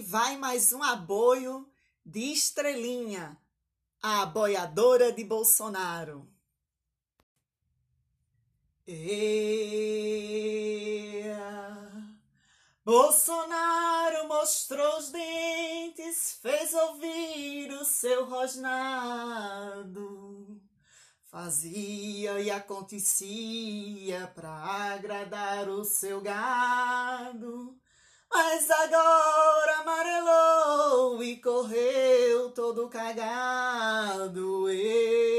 vai mais um aboio de Estrelinha, a aboiadora de Bolsonaro. Bolsonaro mostrou os dentes, fez ouvir o seu rosnado. Fazia e acontecia pra agradar o seu gado. Mas agora amarelou e correu todo cagado.